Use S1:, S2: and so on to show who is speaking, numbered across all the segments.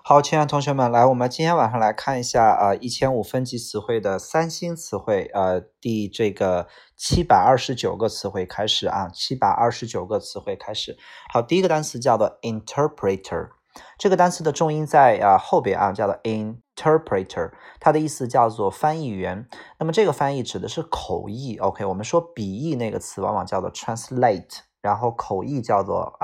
S1: 好，亲爱的同学们，来，我们今天晚上来看一下1500分级词汇的三新词汇，第这个729个词汇开始啊，729个词汇开始。好，第一个单词叫做 interpreter， 这个单词的重音在后边啊，叫做 interpreter， 它的意思叫做翻译员。那么这个翻译指的是口译 ，OK， 我们说笔译那个词往往叫做 translate。然后口译叫做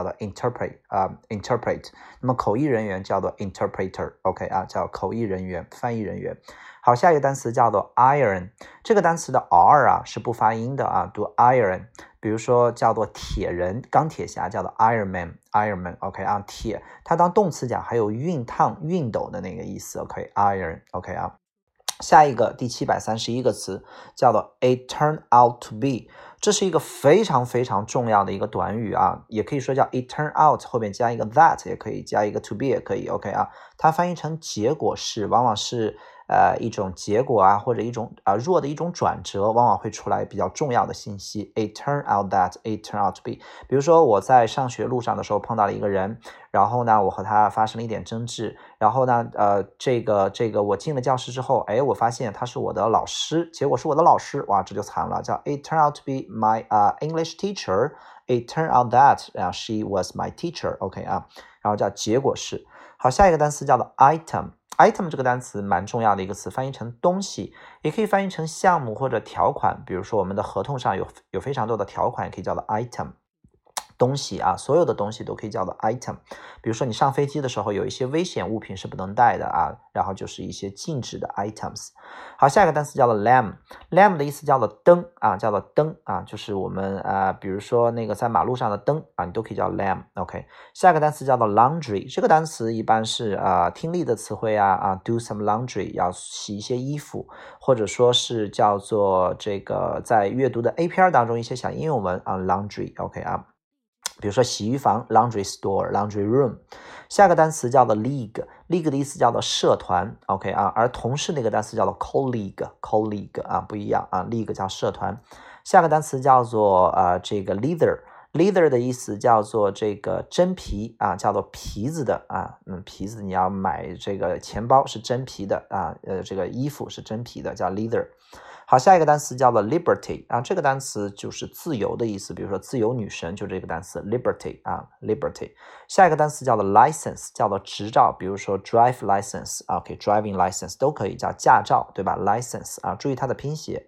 S1: interpret， 那么口译人员叫做 interpreter，OK 叫口译人员、翻译人员。好，下一个单词叫做 iron， 这个单词的 r 是不发音的读 iron。比如说叫做铁人、钢铁侠叫做 Iron Man，OK 铁，它当动词讲还有熨烫、熨斗的那个意思 ，OK iron OK 下一个第731个词叫做 it turn out to be， 这是一个非常非常重要的一个短语也可以说叫 it turn out， 后面加一个 that， 也可以加一个 to be 也可以 OK 它翻译成结果是，往往是一种结果或者一种弱的一种转折，往往会出来比较重要的信息。it turn out that， it turn out to be。比如说我在上学路上的时候碰到了一个人，然后呢，我和他发生了一点争执，然后呢，这个我进了教室之后，我发现他是我的老师，结果是我的老师，哇，这就惨了，叫 it turned out to be my English teacher。It turned out that she was my teacher OK 然后叫结果是。好，下一个单词叫做 item。item 这个单词蛮重要的一个词，翻译成东西，也可以翻译成项目或者条款。比如说我们的合同上有非常多的条款，也可以叫做 item。东西所有的东西都可以叫做 item。比如说你上飞机的时候，有一些危险物品是不能带的然后就是一些禁止的 items。好，下一个单词叫做 lamp。lamp 的意思叫做灯叫做灯就是我们比如说那个在马路上的灯你都可以叫 lamp OK。下一个单词叫做 laundry， 这个单词一般是听力的词汇do some laundry， 要洗一些衣服，或者说是叫做这个在阅读的 A 片当中一些小应用文laundry OK 比如说洗衣房 laundry store laundry room。 下个单词叫做 league 的意思叫做社团 OK 而同事那个单词叫做 colleague 不一样league 叫社团。下个单词叫做这个 leather 的意思叫做这个真皮叫做皮子的皮子，你要买这个钱包是真皮的这个衣服是真皮的叫 leather。好，下一个单词叫做 liberty 这个单词就是自由的意思，比如说自由女神就这个单词 liberty liberty。 下一个单词叫做 license， 叫做执照，比如说 drive license OK driving license 都可以叫驾照对吧 license注意它的拼写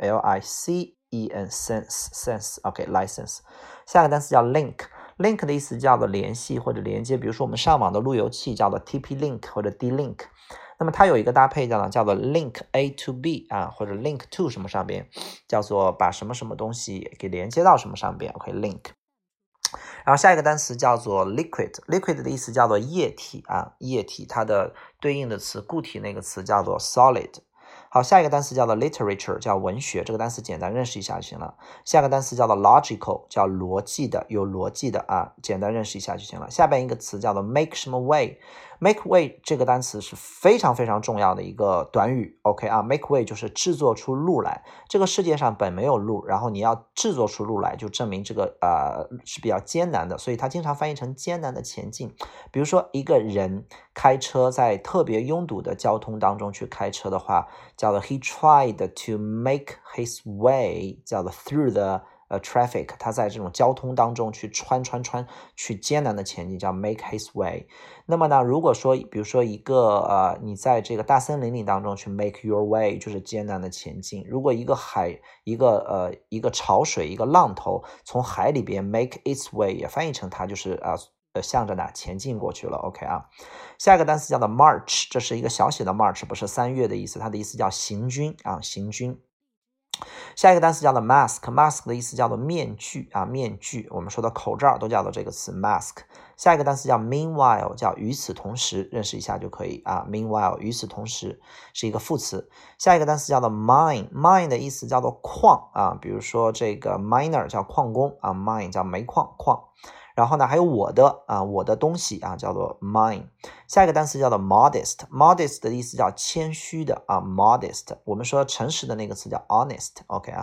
S1: LICENSE OK license。 下个单词叫 link 的意思叫做联系或者连接，比如说我们上网的路由器叫做 TP-Link 或者 D-Link。那么它有一个搭配叫做 link A to B 或者 link to 什么上边，叫做把什么什么东西给连接到什么上边 OK link。 然后下一个单词叫做 liquid 的意思叫做液体液体，它的对应的词固体那个词叫做 solid。好，下一个单词叫做 literature， 叫文学，这个单词简单认识一下就行了。下个单词叫做 logical， 叫逻辑的，有逻辑的简单认识一下就行了。下边一个词叫做 make 什么 way。make way 这个单词是非常非常重要的一个短语 OK make way 就是制作出路来，这个世界上本没有路，然后你要制作出路来，就证明这个是比较艰难的，所以它经常翻译成艰难的前进。比如说一个人开车在特别拥堵的交通当中去开车的话，叫做 he tried to make his way， 叫做 through the traffic， 他在这种交通当中去穿去艰难的前进，叫 make his way。 那么呢，如果说比如说一个你在这个大森林里当中去 make your way， 就是艰难的前进。如果一个潮水一个浪头从海里边 make its way， 也翻译成它就是向着哪前进过去了 OK 下一个单词叫做 march， 这是一个小写的 march， 不是3月的意思，它的意思叫行军行军。下一个单词叫做 mask 的意思叫做面具面具，我们说的口罩都叫做这个词 mask。 下一个单词叫 meanwhile， 叫与此同时，认识一下就可以meanwhile 与此同时是一个副词。下一个单词叫做 mine 的意思叫做矿比如说这个 miner 叫矿工mine 叫煤矿然后呢还有我的东西叫做 mine。 下一个单词叫做 modest 的意思叫谦虚的modest， 我们说诚实的那个词叫 honest OK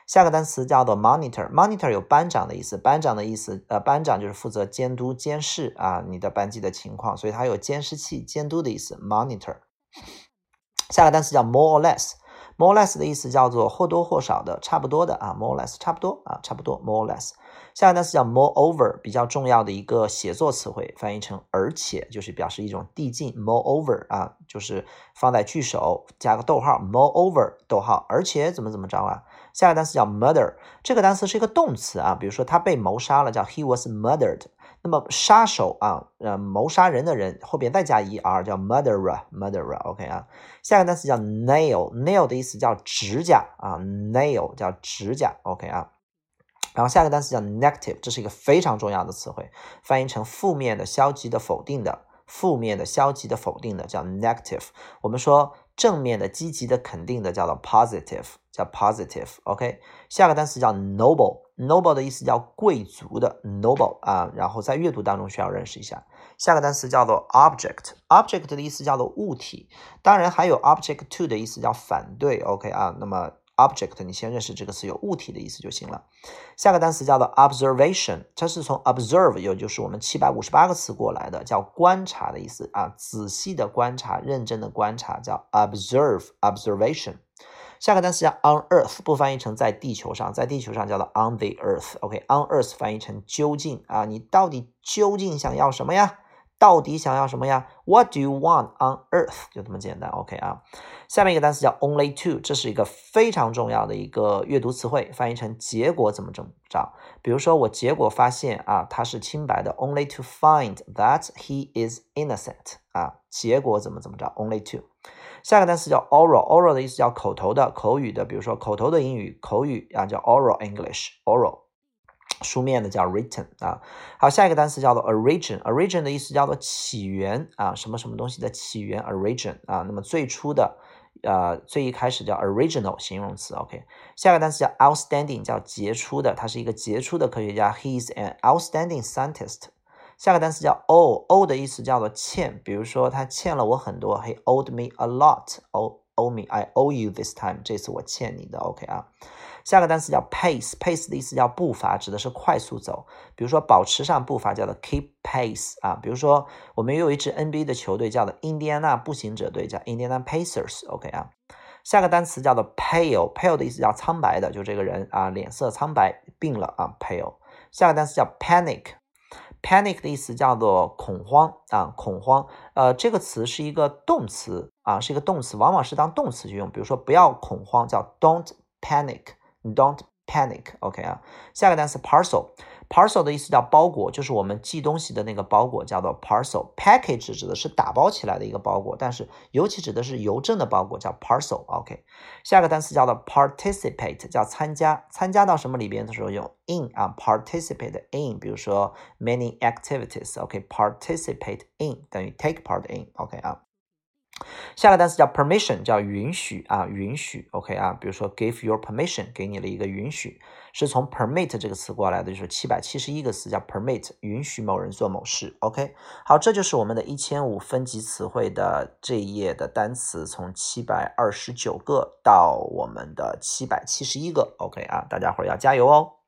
S1: 下个单词叫做 monitor，monitor 有班长的意思，班长的意思，班长就是负责监督监视啊你的班级的情况，所以它有监视器监督的意思 monitor。下个单词叫 more or less。more or less 的意思叫做或多或少的，差不多的啊 more or less 差不多啊，差不多 more or less。下个单词叫 moreover， 比较重要的一个写作词汇，翻译成而且，就是表示一种递进 moreover 啊，就是放在句首加个逗号 moreover 逗号，而且怎么怎么着啊。下个单词叫 murder， 这个单词是一个动词啊，比如说他被谋杀了，叫 he was murdered。那么杀手啊，谋杀人的人后边再加 er 叫 murderer，OK 啊。下个单词叫 nail，nail 的意思叫指甲啊 ，nail 叫指甲 ，OK 啊。然后下个单词叫 negative， 这是一个非常重要的词汇，翻译成负面的、消极的、否定的，负面的、消极的、否定的叫 negative。我们说正面的、积极的、肯定的叫做 positive， 叫 positive，OK。下个单词叫 noble，noble 的意思叫贵族的 noble 啊，然后在阅读当中需要认识一下。下个单词叫做 object，object 的意思叫做物体，当然还有 object to 的意思叫反对 ，OK 啊，那么object 你先认识这个词有物体的意思就行了。下个单词叫做 observation， 这是从 observe 也就是我们758个词过来的，叫观察的意思啊，仔细的观察，认真的观察叫 observation。下个单词叫 on earth， 不翻译成在地球上，在地球上叫做 on the earth，OK，on earth 翻译成究竟啊，你到底究竟想要什么呀？到底想要什么呀 ？What do you want on earth？ 就这么简单 ，OK 啊。下面一个单词叫 only to， 这是一个非常重要的一个阅读词汇，翻译成结果怎么着。比如说我结果发现啊他是清白的 ，only to find that he is innocent 啊，结果怎么着 ，only to。下个单词叫 oral，oral 的意思叫口头的、口语的，比如说口头的英语、口语啊叫 oral English，oral。书面的叫 written 啊，好，下一个单词叫做 origin 的意思叫做起源啊，什么什么东西的起源 origin 啊，那么最初的最一开始叫 original 形容词 OK， 下个单词叫 outstanding 叫杰出的，他是一个杰出的科学家 he is an outstanding scientist。下个单词叫 owe 的意思叫做欠，比如说他欠了我很多 he owed me a lot owe me I owe you this time 这次我欠你的 OK 啊。下个单词叫 pace 的意思叫步伐，指的是快速走，比如说保持上步伐叫做 keep pace 啊，比如说我们有一支 NBA 的球队叫做印第安纳步行者队，叫 Indiana Pacers OK 啊。下个单词叫做 pale 的意思叫苍白的，就这个人啊脸色苍白病了啊 pale。下个单词叫 panic 的意思叫做恐慌啊，恐慌。这个词是一个动词啊，是一个动词，往往是当动词去用。比如说不要恐慌，叫 don't panic， OK 啊。下个单词 parcel 的意思叫包裹，就是我们寄东西的那个包裹叫做 parcel。package 指的是打包起来的一个包裹，但是尤其指的是邮政的包裹叫 parcel，OK。下个单词叫做 participate， 叫参加，参加到什么里边的时候用 in 啊 ，participate in， 比如说 many activities，OK，participate in 等于 take part in，OK 啊。下个单词叫 permission， 叫允许啊，允许 OK 啊，比如说 give your permission， 给你了一个允许，是从 permit 这个词过来的，就是771个词叫 permit， 允许某人做某事 OK。好，这就是我们的1500分级词汇的这一页的单词，从729个到我们的771个 OK 啊，大家伙儿要加油哦。